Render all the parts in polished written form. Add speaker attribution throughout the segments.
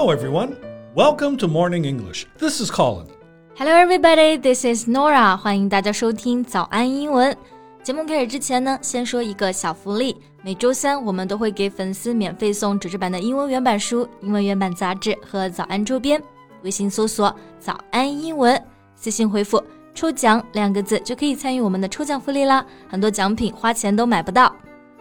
Speaker 1: Hello, everyone. Welcome to Morning English. This is Colin.
Speaker 2: Hello, everybody. This is Nora. 欢迎大家收听早安英文。节目开始之前呢，先说一个小福利。每周三我们都会给粉丝免费送纸质版的英文原版书、英文原版杂志和早安周边。微信搜索早安英文，私信回复抽奖2个字就可以参与我们的抽奖福利啦。很多奖品花钱都买不到。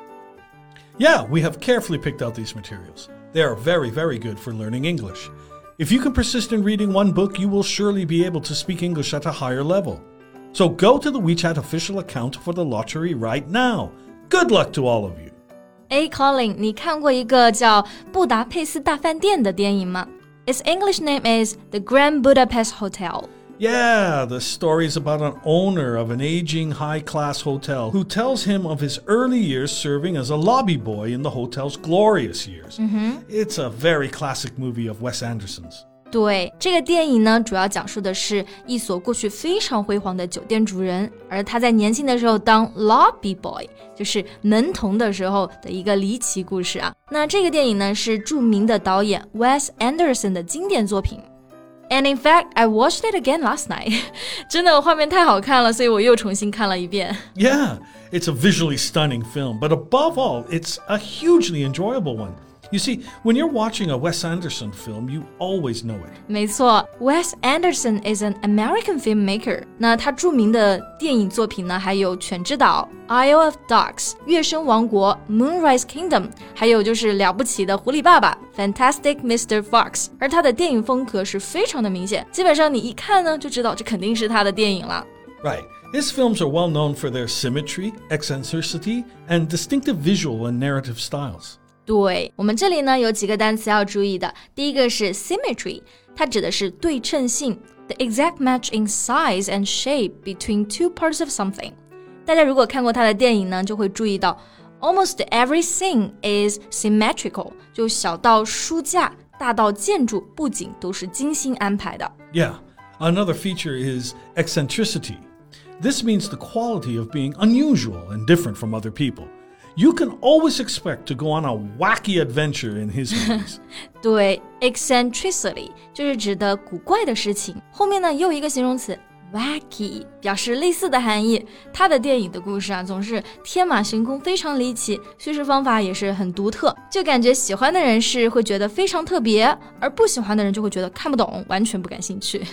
Speaker 1: Yeah, we have carefully picked out these materials. They are very, very good for learning English. If you can persist in reading one book, you will surely be able to speak English at a higher level. So go to the WeChat official account for the lottery right now. Good luck to all of you.
Speaker 2: Hey Colin, 你看过一个叫布达佩斯大饭店的电影吗？ Its English name is The Grand Budapest Hotel.Yeah,
Speaker 1: the story is about an owner of an aging high-class hotel who tells him of his early years serving as a lobby boy in the hotel's glorious years. It's a very classic movie of Wes Anderson's.
Speaker 2: 对，这个电影呢，主要讲述的是一所过去非常辉煌的酒店主人，而他在年轻的时候当 lobby boy， 就是门童的时候的一个离奇故事啊。那这个电影呢，是著名的导演 Wes Anderson 的经典作品。And in fact, I watched it again last night. 真的画面太好看了，所以我又重新看了一遍。
Speaker 1: Yeah, it's a visually stunning film, but above all, it's a hugely enjoyable one. You see, when you're watching a Wes Anderson film, you always know it.
Speaker 2: 没错 Wes Anderson is an American filmmaker. 那他著名的电影作品呢，还有《犬之岛》Isle of Dogs 月升王国 Moonrise Kingdom 还有就是了不起的狐狸爸爸 Fantastic Mr. Fox 而他的电影风格是非常的明显，基本上你一看呢就知道这肯定是他的电影了。
Speaker 1: Right. His films are well known for their symmetry, eccentricity, and distinctive visual and narrative styles.
Speaker 2: 对，我们这里呢有几个单词要注意的。第一个是 symmetry， 它指的是对称性 the exact match in size and shape between two parts of something。 大家如果看过他的电影呢，就会注意到 almost every scene is symmetrical， 就小到书架，大到建筑，布景都是精心安排的。
Speaker 1: Yeah, another feature is eccentricity. This means the quality of being unusual and different from other people.You can always expect to go on a wacky adventure in his movies.
Speaker 2: 对 eccentricity 就是指的古怪的事情，后面呢也有一个形容词 wacky 表示类似的含义。他的电影的故事啊总是天马行空，非常离奇，叙事方法也是很独特，就感觉喜欢的人是会觉得非常特别，而不喜欢的人就会觉得看不懂，完全不感兴趣。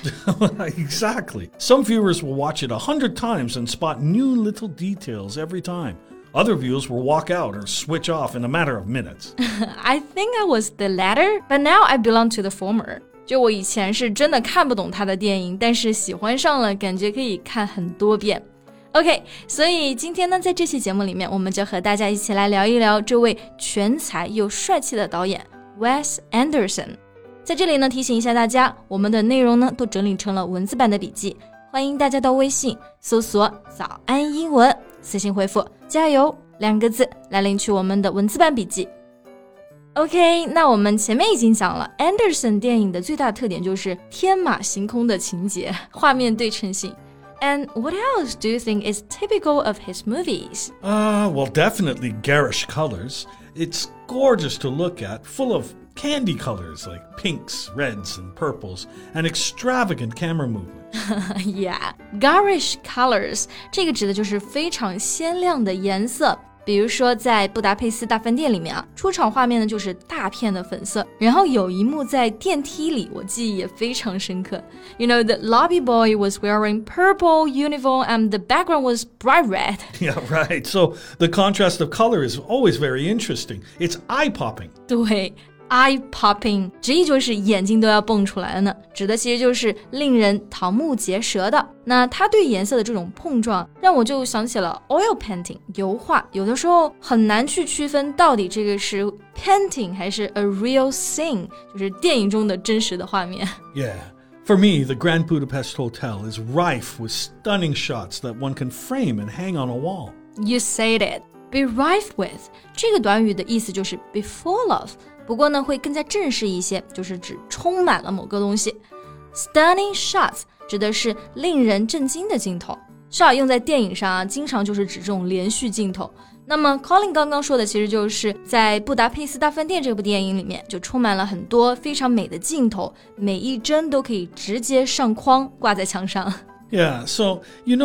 Speaker 1: Exactly. Some viewers will watch it 100 times and spot new little details every time.Other viewers will walk out or switch off in a matter of minutes.
Speaker 2: I think I was the latter, but now I belong to the former. 就我以前是真的看不懂他的电影，但是喜欢上了，感觉可以看很多遍。OK， 所以今天呢，在这期节目里面，我们就和大家一起来聊一聊这位全才又帅气的导演 Wes Anderson。在这里呢，提醒一下大家，我们的内容呢都整理成了文字版的笔记，欢迎大家到微信搜索早安英文，私信回复加油2个字来领取我们的文字版笔记。 OK， 那我们前面已经讲了 Anderson 电影的最大特点就是天马行空的情节，画面对称性。 And what else do you think is typical of his movies?
Speaker 1: Well, definitely garish colors. It's gorgeous to look at, full of candy colors like pinks, reds, and purples, and extravagant camera movement.
Speaker 2: Yeah, garish colors 这个指的就是非常鲜亮的颜色。比如说在布达佩斯大饭店里面啊，出场画面呢就是大片的粉色，然后有一幕在电梯里，我记忆也非常深刻。You know, the lobby boy was wearing purple uniform and the background was bright red.
Speaker 1: Yeah, right. So the contrast of color is always very interesting. It's eye-popping.
Speaker 2: 对，eye-popping 直译就是眼睛都要蹦出来了呢，指的其实就是令人瞠目结舌的。那它对颜色的这种碰撞，让我就想起了 oil painting 油画，有的时候很难去区分到底这个是 painting 还是 a real scene， 就是电影中的真实的画面。
Speaker 1: Yeah. For me, the Grand Budapest Hotel is rife with stunning shots that one can frame and hang on a wall.
Speaker 2: You said it. Be rife with 这个短语的意思就是 be full of， 不过呢会更加正式一些，就是指充满了某个东西。Stunning shots 指的是令人震惊的镜头，shot用在电影上啊，经常就是指这种连续镜头。 那么 Colin 刚刚说的其实就是在布达佩斯大饭店这部电影里面就充满了很多非常美的镜头，每一帧都可以直接上框挂在墙上。
Speaker 1: Yeah, so,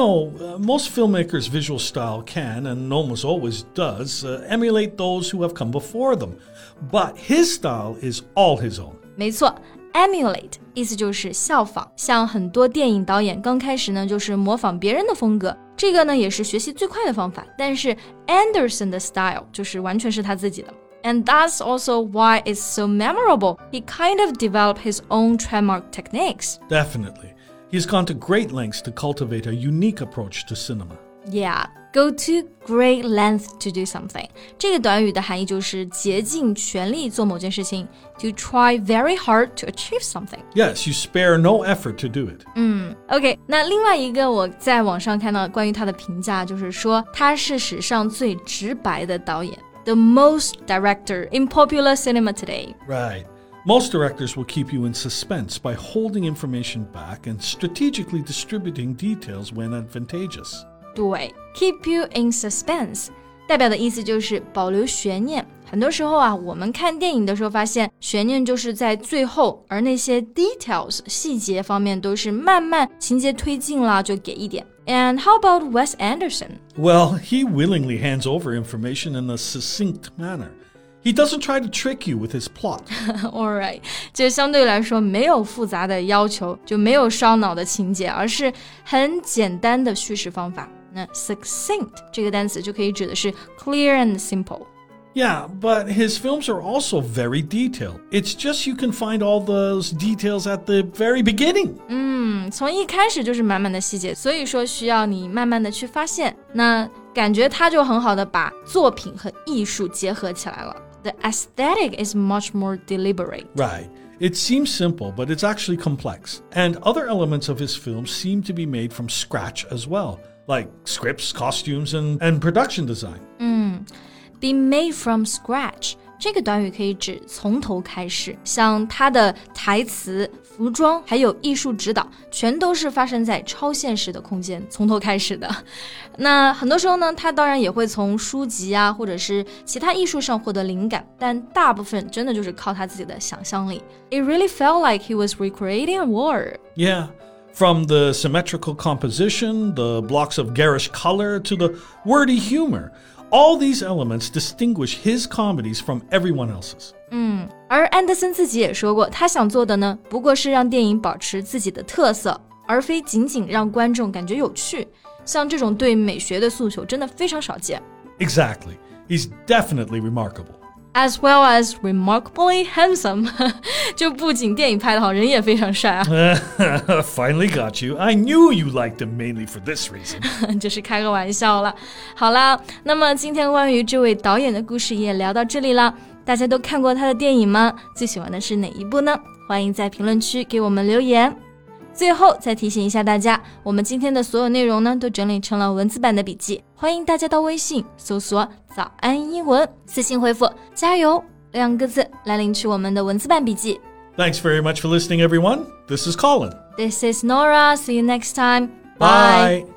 Speaker 1: most filmmakers' visual style can, and almost always does, emulate those who have come before them. But his style is all his own.
Speaker 2: 没错，emulate 意思就是效仿，像很多电影导演刚开始呢就是模仿别人的风格，这个呢也是学习最快的方法，但是 Anderson 的 style 就是完全是他自己的。And that's also why it's so memorable. He kind of developed his own trademark techniques.
Speaker 1: Definitely. He's gone to great lengths to cultivate a unique approach to cinema.
Speaker 2: Yeah, go to great length to do something. 这个短语的含义就是竭尽全力做某件事情 to try very hard to achieve something.
Speaker 1: Yes, you spare no effort to do it.
Speaker 2: OK, 那另外一个我在网上看到关于他的评价就是说他是史上最直白的导演 The most director in popular cinema today.
Speaker 1: Right. Most directors will keep you in suspense by holding information back and strategically distributing details when advantageous.
Speaker 2: 对 keep you in suspense 代表的意思就是保留悬念。很多时候啊，我们看电影的时候发现悬念就是在最后，而那些 details 细节方面都是慢慢情节推进了就给一点。And how about Wes Anderson?
Speaker 1: Well, he willingly hands over information in a succinct manner. He doesn't try to trick you with his plot.
Speaker 2: Alright, 这相对来说没有复杂的要求，就没有烧脑的情节，而是很简单的叙事方法。那 succinct 这个单词就可以指的是 clear and simple.
Speaker 1: Yeah, but his films are also very detailed. It's just you can find all those details at the very beginning.
Speaker 2: 从一开始就是满满的细节，所以说需要你慢慢的去发现。那感觉他就很好的把作品和艺术结合起来了。The aesthetic is much more deliberate.
Speaker 1: Right. It seems simple, but it's actually complex. And other elements of his films seem to be made from scratch as well, like scripts, costumes, and production design.
Speaker 2: Be made from scratch. 这个短语可以指从头开始，像他的台词、服装还有艺术指导，全都是发生在超现实的空间，从头开始的。那很多时候呢，他当然也会从书籍啊，或者是其他艺术上获得灵感，但大部分真的就是靠他自己的想象力。It really felt like he was recreating a world.
Speaker 1: Yeah. From the symmetrical composition, the blocks of garish color, to the wordy humor. All these elements distinguish his comedies from everyone else's.
Speaker 2: 而安德森自己也说过，他想做的呢，不过是让电影保持自己的特色，而非仅仅让观众感觉有趣。像这种对美学的诉求真的非常少见。
Speaker 1: Exactly. He's definitely remarkable.
Speaker 2: As well as remarkably handsome. 就不仅电影拍得好，人也非常帅啊。
Speaker 1: Finally got you. I knew you liked him mainly for this reason.
Speaker 2: 就是开个玩笑了。好啦，那么今天关于这位导演的故事也聊到这里啦。大家都看过他的电影吗？最喜欢的是哪一部呢？欢迎在评论区给我们留言。最后再提醒一下大家，我们今天的所有内容呢，都整理成了文字版的笔记，欢迎大家到微信搜索早安英文，私信回复加油2个字来领取我们的文字版笔记。
Speaker 1: Thanks very much for listening, everyone. This is Colin.
Speaker 2: This is Nora. See you next time.
Speaker 1: Bye.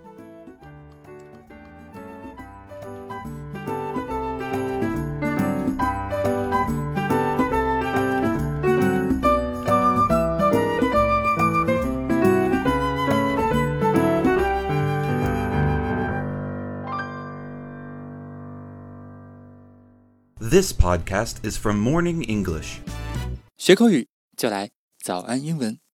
Speaker 3: This podcast is from Morning English.
Speaker 4: 学口语就来早安英文。